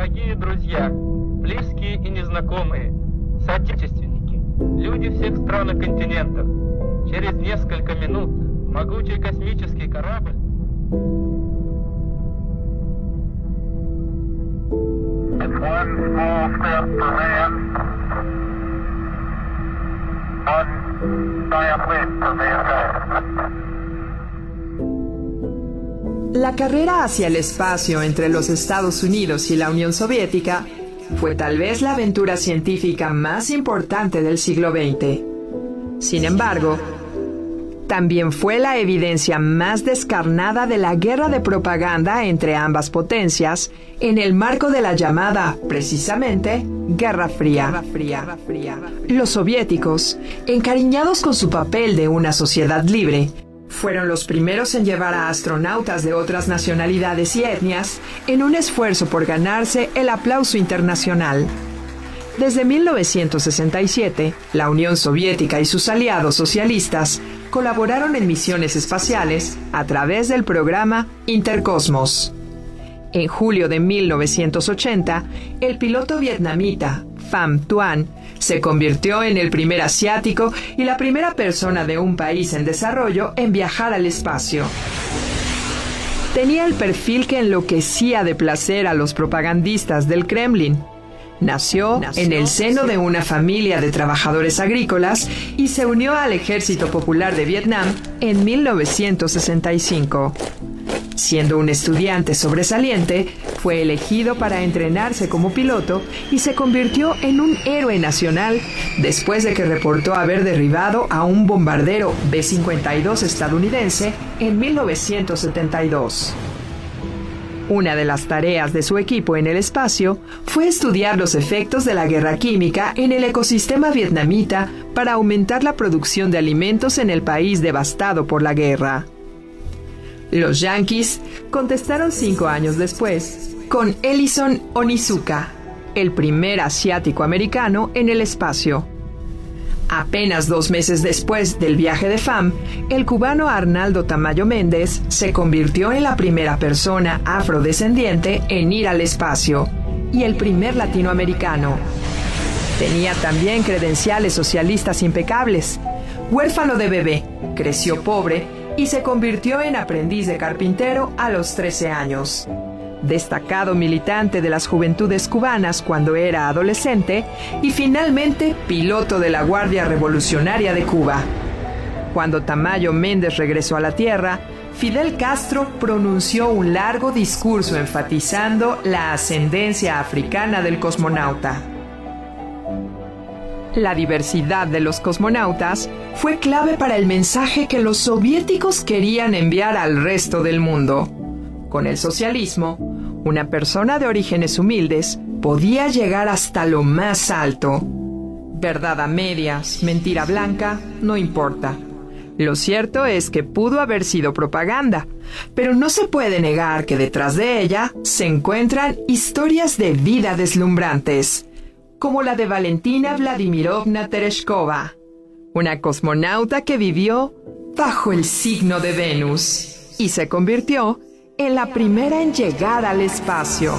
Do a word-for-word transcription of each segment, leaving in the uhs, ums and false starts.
Дорогие друзья, близкие и незнакомые, соотечественники, люди всех стран и континентов, через несколько минут могучий космический корабль It's one small step for man, one giant leap for mankind. La carrera hacia el espacio entre los Estados Unidos y la Unión Soviética fue tal vez la aventura científica más importante del siglo veinte. Sin embargo, también fue la evidencia más descarnada de la guerra de propaganda entre ambas potencias en el marco de la llamada, precisamente, Guerra Fría. Los soviéticos, encariñados con su papel de una sociedad libre, fueron los primeros en llevar a astronautas de otras nacionalidades y etnias en un esfuerzo por ganarse el aplauso internacional. Desde mil novecientos sesenta y siete, la Unión Soviética y sus aliados socialistas colaboraron en misiones espaciales a través del programa Intercosmos. En julio de mil novecientos ochenta, el piloto vietnamita Pham Tuan se convirtió en el primer asiático y la primera persona de un país en desarrollo en viajar al espacio. Tenía el perfil que enloquecía de placer a los propagandistas del Kremlin. Nació, Nació en el seno de una familia de trabajadores agrícolas y se unió al Ejército Popular de Vietnam en mil novecientos sesenta y cinco. Siendo un estudiante sobresaliente, fue elegido para entrenarse como piloto y se convirtió en un héroe nacional después de que reportó haber derribado a un bombardero B cincuenta y dos estadounidense en mil novecientos setenta y dos. Una de las tareas de su equipo en el espacio fue estudiar los efectos de la guerra química en el ecosistema vietnamita para aumentar la producción de alimentos en el país devastado por la guerra. Los yanquis contestaron cinco años después con Ellison Onizuka, el primer asiático americano en el espacio. Apenas dos meses después del viaje de Pham, el cubano Arnaldo Tamayo Méndez se convirtió en la primera persona afrodescendiente en ir al espacio y el primer latinoamericano. Tenía también credenciales socialistas impecables. Huérfano de bebé, creció pobre y se convirtió en aprendiz de carpintero a los trece años. Destacado militante de las juventudes cubanas cuando era adolescente y finalmente piloto de la Guardia Revolucionaria de Cuba. Cuando Tamayo Méndez regresó a la Tierra, Fidel Castro pronunció un largo discurso enfatizando la ascendencia africana del cosmonauta. La diversidad de los cosmonautas fue clave para el mensaje que los soviéticos querían enviar al resto del mundo. Con el socialismo, una persona de orígenes humildes podía llegar hasta lo más alto. Verdad a medias, mentira blanca, no importa. Lo cierto es que pudo haber sido propaganda, pero no se puede negar que detrás de ella se encuentran historias de vida deslumbrantes, como la de Valentina Vladimirovna Tereshkova, una cosmonauta que vivió bajo el signo de Venus y se convirtió en la primera en llegar al espacio.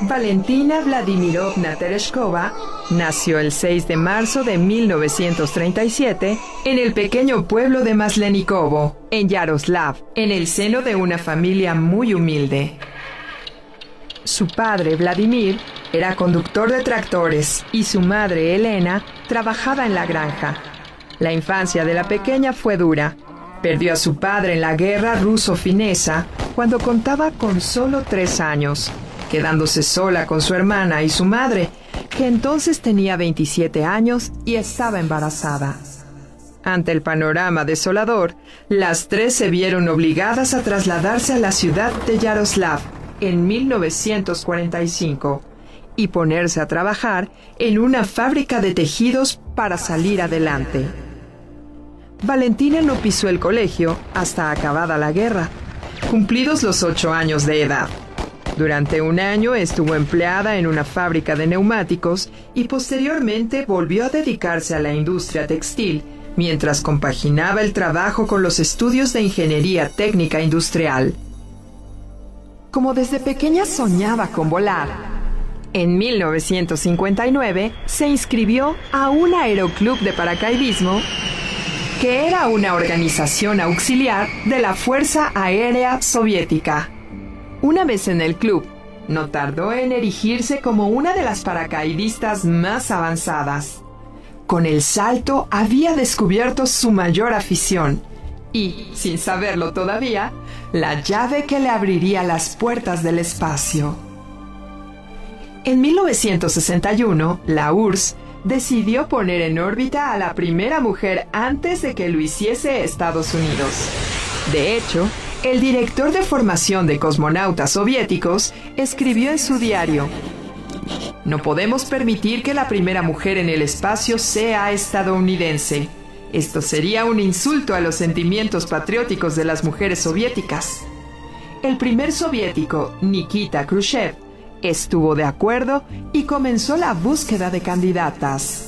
Valentina Vladimirovna Tereshkova nació el seis de marzo de mil novecientos treinta y siete en el pequeño pueblo de Maslenikovo, en Yaroslav, en el seno de una familia muy humilde. Su padre, Vladimir, era conductor de tractores y su madre, Elena, trabajaba en la granja. La infancia de la pequeña fue dura. Perdió a su padre en la guerra ruso-finesa cuando contaba con solo tres años, quedándose sola con su hermana y su madre, que entonces tenía veintisiete años y estaba embarazada. Ante el panorama desolador, las tres se vieron obligadas a trasladarse a la ciudad de Yaroslav en mil novecientos cuarenta y cinco y ponerse a trabajar en una fábrica de tejidos para salir adelante. Valentina no pisó el colegio hasta acabada la guerra, cumplidos los ocho años de edad. Durante un año estuvo empleada en una fábrica de neumáticos y posteriormente volvió a dedicarse a la industria textil mientras compaginaba el trabajo con los estudios de ingeniería técnica industrial. Como desde pequeña soñaba con volar, en mil novecientos cincuenta y nueve se inscribió a un aeroclub de paracaidismo que era una organización auxiliar de la Fuerza Aérea Soviética. Una vez en el club, no tardó en erigirse como una de las paracaidistas más avanzadas. Con el salto había descubierto su mayor afición y, sin saberlo todavía, la llave que le abriría las puertas del espacio. En mil novecientos sesenta y uno, la U R S S decidió poner en órbita a la primera mujer antes de que lo hiciese Estados Unidos. De hecho, el director de formación de cosmonautas soviéticos escribió en su diario: "No podemos permitir que la primera mujer en el espacio sea estadounidense. Esto sería un insulto a los sentimientos patrióticos de las mujeres soviéticas". El primer soviético, Nikita Khrushchev, estuvo de acuerdo y comenzó la búsqueda de candidatas.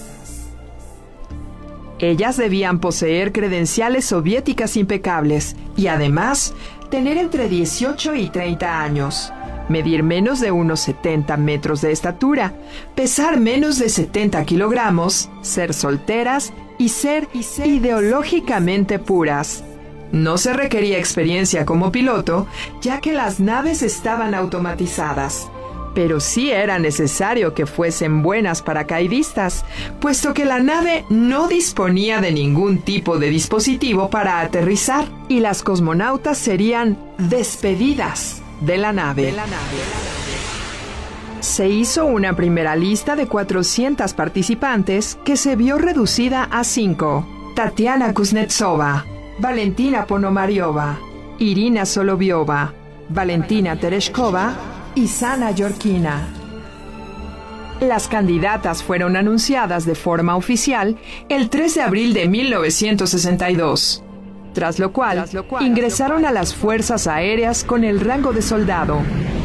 Ellas debían poseer credenciales soviéticas impecables y además tener entre dieciocho y treinta años, medir menos de unos setenta metros de estatura, pesar menos de setenta kilogramos, ser solteras y ser, y ser ideológicamente puras. No se requería experiencia como piloto, ya que las naves estaban automatizadas. Pero sí era necesario que fuesen buenas paracaidistas, puesto que la nave no disponía de ningún tipo de dispositivo para aterrizar y las cosmonautas serían despedidas de la nave. Se hizo una primera lista de cuatrocientas participantes que se vio reducida a cinco: Tatiana Kuznetsova, Valentina Ponomariova, Irina Soloviova, Valentina Tereshkova y Sana Yorkina. Las candidatas fueron anunciadas de forma oficial el tres de abril de mil novecientos sesenta y dos, tras lo cual, tras lo cual ingresaron a las fuerzas aéreas con el rango de soldado.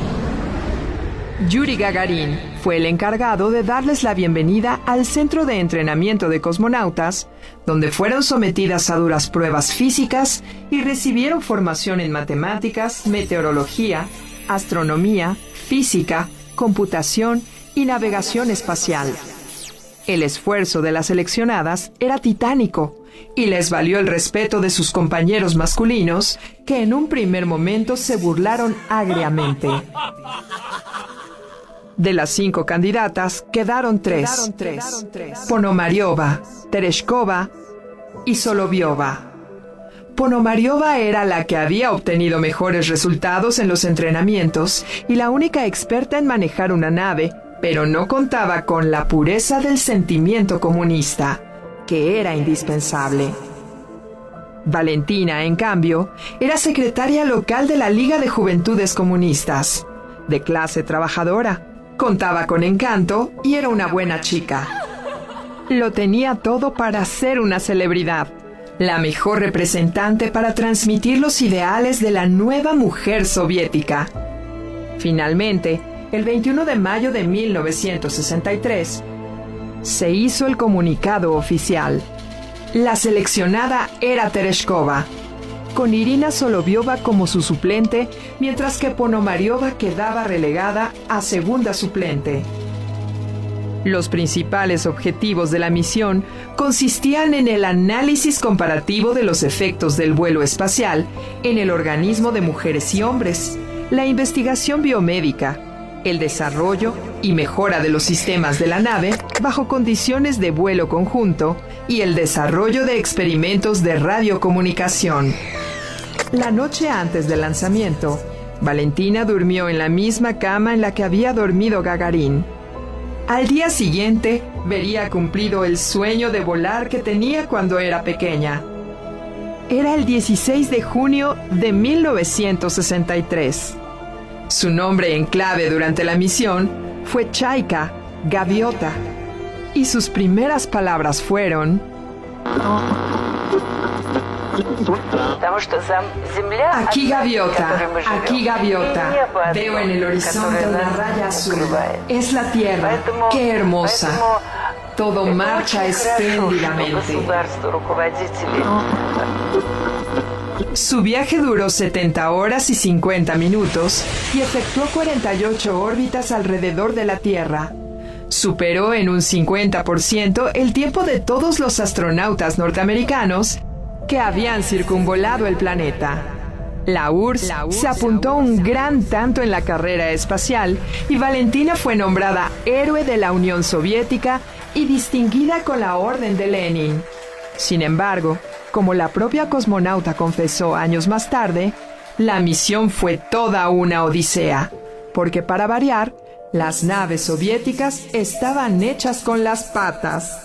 Yuri Gagarin fue el encargado de darles la bienvenida al centro de entrenamiento de cosmonautas, donde fueron sometidas a duras pruebas físicas y recibieron formación en matemáticas, meteorología, astronomía, física, computación y navegación espacial. El esfuerzo de las seleccionadas era titánico y les valió el respeto de sus compañeros masculinos, que en un primer momento se burlaron agriamente. De las cinco candidatas quedaron tres: quedaron tres. Ponomariova, Tereshkova y Soloviova. Ponomariova era la que había obtenido mejores resultados en los entrenamientos y la única experta en manejar una nave, pero no contaba con la pureza del sentimiento comunista, que era indispensable. Valentina, en cambio, era secretaria local de la Liga de Juventudes Comunistas, de clase trabajadora, contaba con encanto y era una buena chica. Lo tenía todo para ser una celebridad, la mejor representante para transmitir los ideales de la nueva mujer soviética. Finalmente, el veintiuno de mayo de mil novecientos sesenta y tres, se hizo el comunicado oficial. La seleccionada era Tereshkova. con Irina Soloviova como su suplente, mientras que Ponomariova quedaba relegada a segunda suplente. Los principales objetivos de la misión consistían en el análisis comparativo de los efectos del vuelo espacial en el organismo de mujeres y hombres, la investigación biomédica, el desarrollo y mejora de los sistemas de la nave bajo condiciones de vuelo conjunto y el desarrollo de experimentos de radiocomunicación. La noche antes del lanzamiento, Valentina durmió en la misma cama en la que había dormido Gagarin. Al día siguiente, vería cumplido el sueño de volar que tenía cuando era pequeña. Era el dieciséis de junio de mil novecientos sesenta y tres. Su nombre en clave durante la misión fue Chaika, gaviota, y sus primeras palabras fueron: aquí gaviota, aquí gaviota, veo en el horizonte una raya azul, es la Tierra, qué hermosa, todo marcha espléndidamente. Su viaje duró setenta horas y cincuenta minutos y efectuó cuarenta y ocho órbitas alrededor de la Tierra. Superó en un cincuenta por ciento el tiempo de todos los astronautas norteamericanos que habían circunvolado el planeta. La U R S S se apuntó un gran tanto en la carrera espacial y Valentina fue nombrada héroe de la Unión Soviética y distinguida con la Orden de Lenin. Sin embargo, como la propia cosmonauta confesó años más tarde, la misión fue toda una odisea, porque para variar, las naves soviéticas estaban hechas con las patas.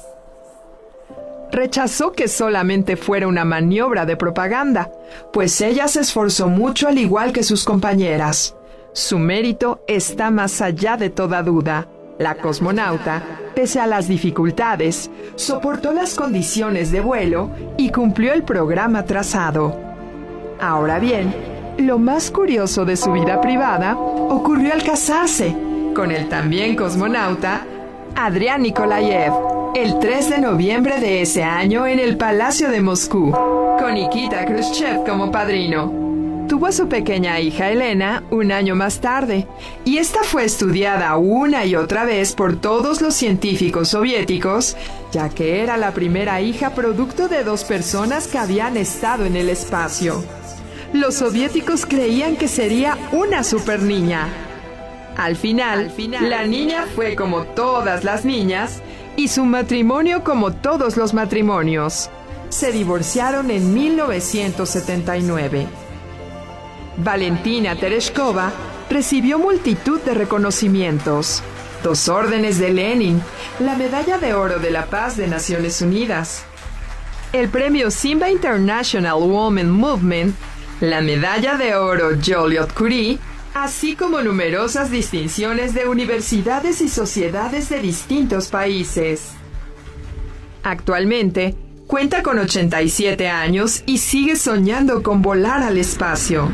Rechazó que solamente fuera una maniobra de propaganda, pues ella se esforzó mucho al igual que sus compañeras. Su mérito está más allá de toda duda. La cosmonauta, pese a las dificultades, soportó las condiciones de vuelo y cumplió el programa trazado. Ahora bien, lo más curioso de su vida privada ocurrió al casarse con el también cosmonauta Adrián Nikolayev, el tres de noviembre de ese año en el Palacio de Moscú, con Nikita Khrushchev como padrino. Tuvo a su pequeña hija Elena un año más tarde, y esta fue estudiada una y otra vez por todos los científicos soviéticos, ya que era la primera hija producto de dos personas que habían estado en el espacio. Los soviéticos creían que sería una superniña. Al final, Al final, la niña fue como todas las niñas, y su matrimonio como todos los matrimonios. Se divorciaron en mil novecientos setenta y nueve. Valentina Tereshkova recibió multitud de reconocimientos: dos órdenes de Lenin, la Medalla de Oro de la Paz de Naciones Unidas, el premio Simba International Women Movement, la Medalla de Oro Joliot-Curie, así como numerosas distinciones de universidades y sociedades de distintos países. Actualmente, cuenta con ochenta y siete años y sigue soñando con volar al espacio.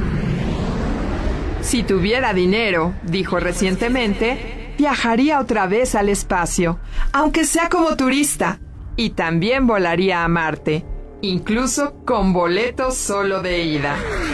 Si tuviera dinero, dijo recientemente, viajaría otra vez al espacio, aunque sea como turista, y también volaría a Marte, incluso con boletos solo de ida.